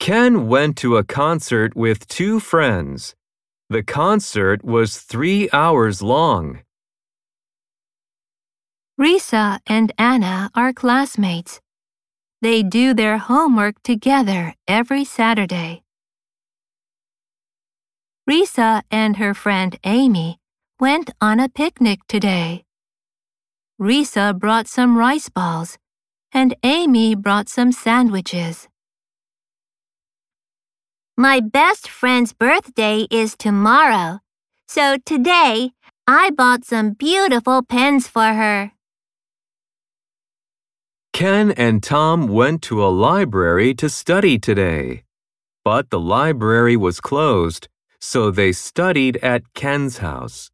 Ken went to a concert with two friends. The concert was 3 hours long. Risa and Anna are classmates. They do their homework together every Saturday. Risa and her friend Amy went on a picnic today. Risa brought some rice balls, and Amy brought some sandwiches. My best friend's birthday is tomorrow, so today I bought some beautiful pens for her. Ken and Tom went to a library to study today. But the library was closed, so they studied at Ken's house.